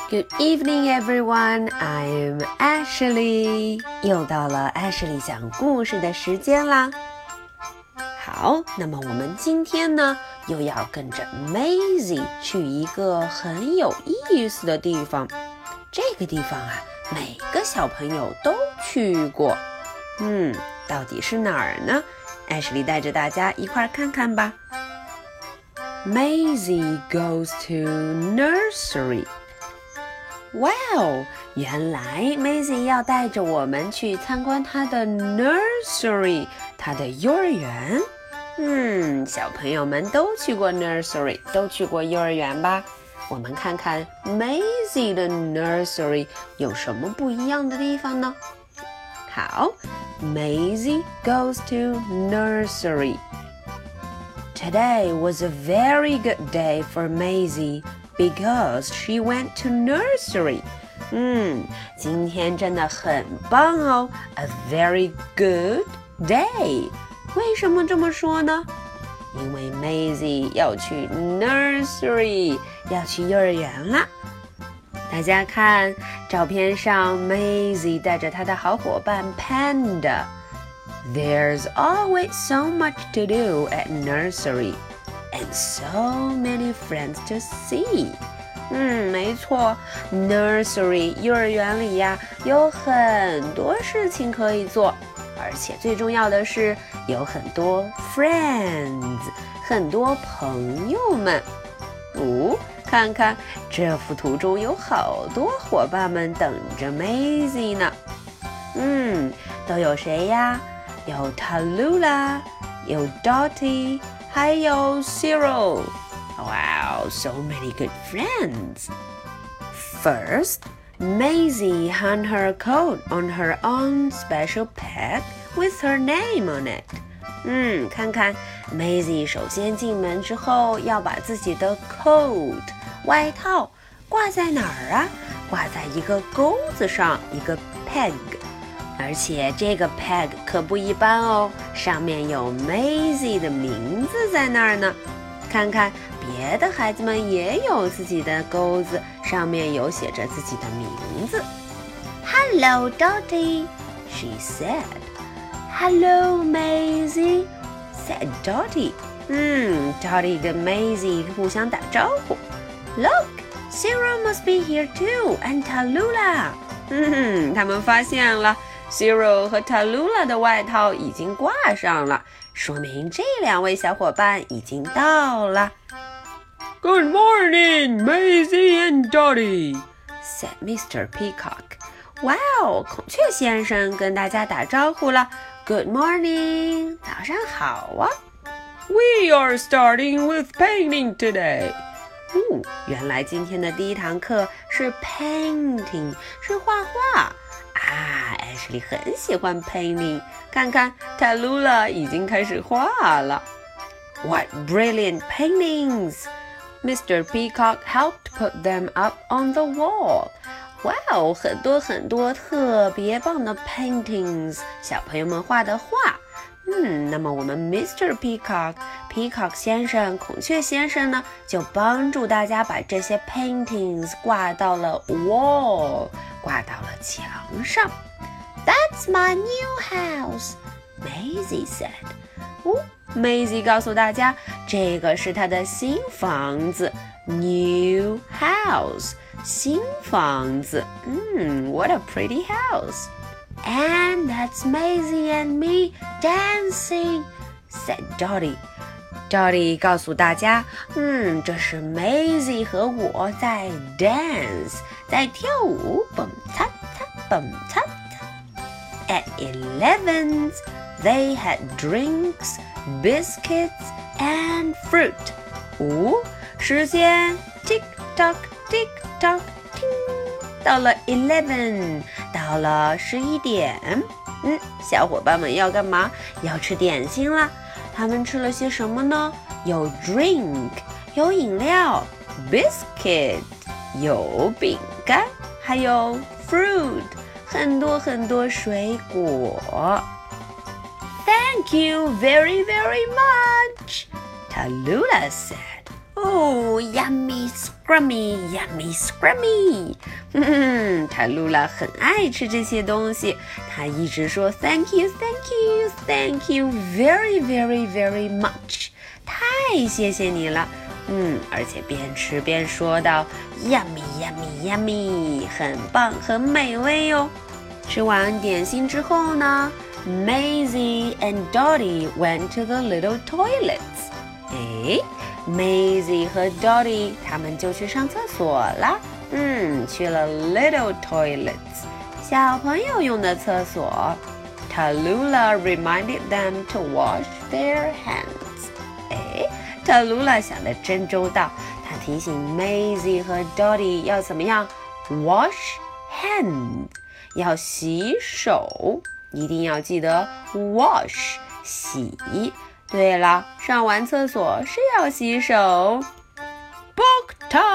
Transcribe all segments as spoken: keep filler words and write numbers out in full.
Good evening, everyone. I'm Ashley. 又到了 Ashley 讲故事的时间啦。好，那么我们今天呢，又要跟着 Maisie 去一个很有意思的地方。这个地方啊，每个小朋友都去过。嗯，到底是哪儿呢？ Ashley 带着大家一块儿看看吧。Maisie goes to nursery. Wow! 原来 Maisie 要带着我们去参观她的 nursery, 她的幼儿园。嗯，小朋友们都去过 nursery, 都去过幼儿园吧？我们看看 Maisie 的 nursery 有什么不一样的地方呢？好 Maisie goes to nursery.Today was a very good day for Maisie because she went to nursery. 嗯，今天真的很棒哦 ，a very good day. 为什么这么说呢？因为 Maisie 要去 nursery， 要去幼儿园啦。大家看照片上 ，Maisie 带着她的好伙伴 Panda。There's always so much to do at nursery, and so many friends to see. 嗯，没错 ，nursery 幼儿园里呀，有很多事情可以做，而且最重要的是有很多 friends， 很多朋友们。哦，看看这幅图中有好多伙伴们等着 Maisie 呢。嗯，都有谁呀？有 Tallulah， 有 Dottie， 还有 Cyril. Wow, so many good friends. First, Maisie hung her coat on her own special peg with her name on it. 嗯，看看 Maisie 首先进门之后要把自己的 coat 外套挂在哪儿啊？挂在一个钩子上，一个 peg。而且这个 peg 可不一般哦，上面有 Maisie 的名字在那儿呢。看看别的孩子们也有自己的钩子，上面有写着自己的名字。Hello, Dottie, she said. Hello, Maisie, said Dottie. 嗯 ，Dottie 跟 Maisie 互相打招呼。Look, Cyril must be here too, and Tallulah. 嗯，他们发现了。Cyril 和 Tallulah 的外套已经挂上了，说明这两位小伙伴已经到了。Good morning, Maisie and Dottie, said Mister Peacock. Wow, 孔雀先生跟大家打招呼了。Good morning, 早上好啊。We are starting with painting today. 哦，原来今天的第一堂课是 painting， 是画画。啊 Ashley 很喜欢 painting， 看看 Tallulah 已经开始画了。What brilliant paintings! Mister Peacock helped put them up on the wall. 哇哦，很多很多特别棒的 paintings， 小朋友们画的画。嗯，那么我们 Mister Peacock Peacock 先生孔雀先生呢，就帮助大家把这些 paintings 挂到了 wall， 挂到了墙上。That's my new house, Maisie said. 哦 Maisie 告诉大家，这个是她的新房子 ，new house， 新房子。嗯 ，What a pretty house.And that's Maisie and me dancing, said Dottie. Dottie 告诉大家，嗯，这是 Maisie 和我在 dance， 在跳舞，蹦擦擦，蹦擦擦。At eleven, they had drinks, biscuits, and fruit. 哦，时间 tick tock, tick tock, ting。到了 eleven， 到了十一点，嗯，小伙伴们要干嘛？要吃点心啦。他们吃了些什么呢？有 drink， 有饮料 ，biscuit， 有饼干，还有 fruit， 很多很多水果。Thank you very very much, Tallulah said. 哦， 哦 ，yummy scrummy yummy scrummy。嗯，塔露拉很爱吃这些东西，她一直说 Thank you, Thank you, Thank you very, very, very much。太谢谢你了。嗯，而且边吃边说道 Yummy, yummy, yummy， 很棒，很美味哟。吃完点心之后呢 ，Maisie and Dottie went to the little toilets。诶 ，Maisie 和 Dottie 他们就去上厕所了。嗯，去了 little toilets， 小朋友用的厕所。Tallulah reminded them to wash their hands。诶 ，Tallulah 想得真周到，她提醒 Maisie 和 Dottie 要怎么样 ？Wash hands。要洗手，一定要记得 wash 洗。对了，上完厕所是要洗手。Book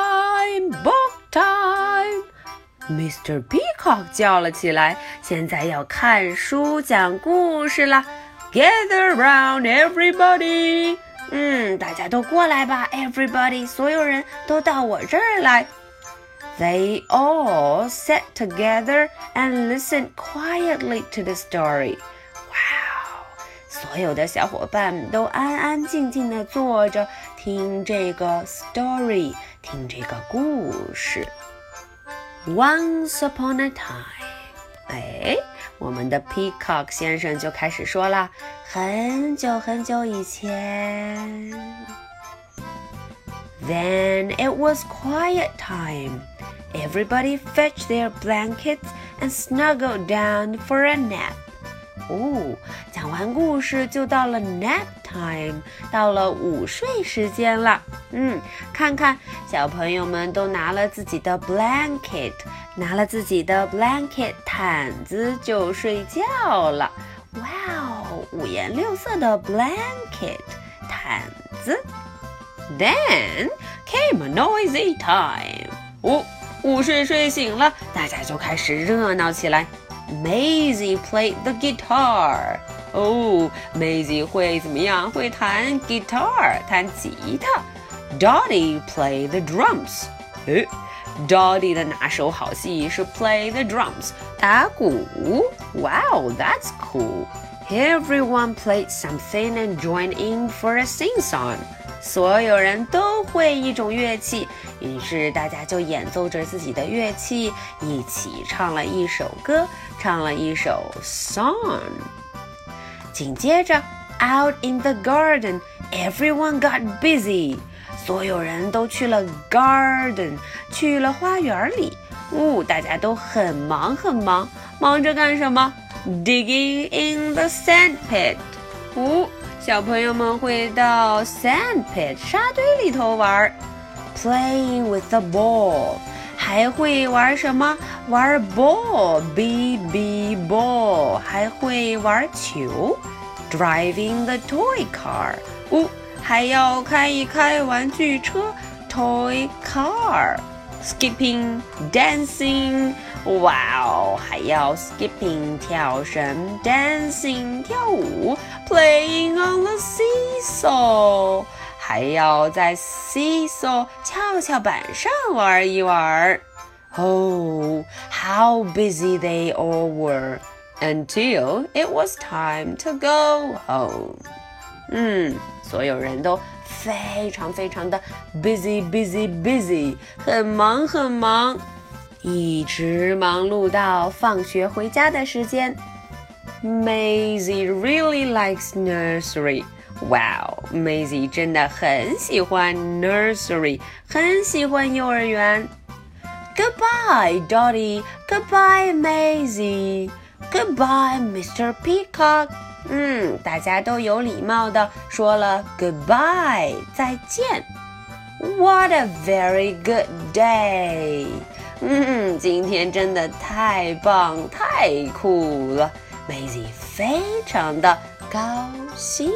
time, book time， Mister Peacock 叫了起来，现在要看书讲故事了。Gather round everybody， 嗯，大家都过来吧 ，everybody， 所有人都到我这儿来。They all sat together and listened quietly to the story. Wow! 所有的小伙伴都安安静静地坐着，听这个 story， 听这个故事。Once upon a time， 哎，我们的 Peacock 先生就开始说了，很久很久以前。Then it was quiet time.Everybody fetched their blankets and snuggled down for a nap. 哦，讲完故事就到了 nap time， 到了午睡时间了。嗯，看看小朋友们都拿了自己的 blanket， 拿了自己的 blanket 毯子就睡觉了。哇哦，五颜六色的 blanket 毯子。Then came a noisy time. 哦。午睡睡醒了，大家就开始热闹起来。Maisie played the guitar。哦 ，Maisie 会怎么样？会弹 guitar， 弹吉他。Dottie played the drums。诶 ，Dottie 的拿手好戏是 play the drums， 打鼓。Wow, that's cool. Everyone played something and joined in for a sing-song。所有人都会一种乐器，于是大家就演奏着自己的乐器，一起唱了一首歌，唱了一首 song。紧接着 ，out in the garden, everyone got busy。所有人都去了 garden， 去了花园里。哦，大家都很忙很忙，忙着干什么 ？Digging in the sand pit。哦。小朋友们会到 sand pit 沙堆里头玩 ，playing with the ball， 还会玩什么？玩 ball b b ball， 还会玩球 ，driving the toy car， 哦，还要开一开玩具车 toy car，skipping dancing。哇哦，还要 skipping 跳绳 dancing 跳舞 playing on the seesaw， 还要在 seesaw 跷跷板上玩一玩。Oh, how busy they all were until it was time to go home. 嗯，所有人都非常非常的 busy busy busy， 很忙很忙。一直忙碌到放学回家的时间。Maisie really likes nursery. Wow, Maisie 真的很喜欢 nursery， 很喜欢幼儿园。Goodbye, Dottie. Goodbye, Maisie. Goodbye, Mister Peacock. 嗯，大家都有礼貌的说了 goodbye， 再见。What a very good day. 嗯，今天真的太棒太酷了 Maisie 非常的高兴。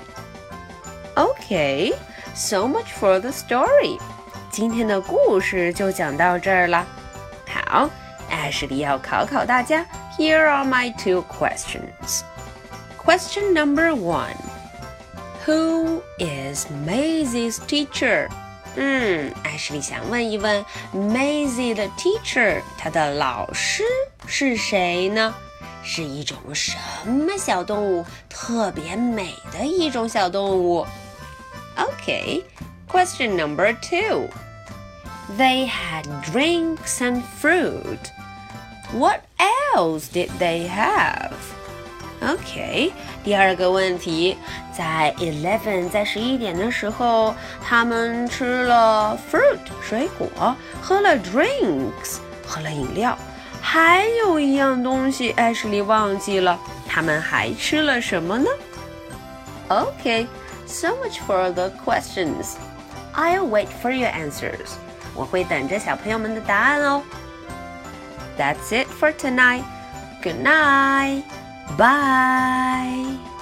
Okay, so much for the story. 今天的故事就讲到这儿了。好，艾什莉要考考大家。 Here are my two questions. Question number one. Who is Maisie's teacher? 嗯，艾什莉想问一问 Maisie 的 teacher， 她的老师是谁呢？是一种什么小动物？特别美的一种小动物。Okay, question number two. They had drinks and fruit. What else did they have? OK, 第二个问题，在eleven在十一点的时候，他们吃了 fruit 水果，喝了 drinks 喝了饮料，还有一样东西艾什莉忘记了，他们还吃了什么呢？ OK, so much for the questions. I'll wait for your answers. 我会等着小朋友们的答案哦。That's it for tonight. Good night. Bye.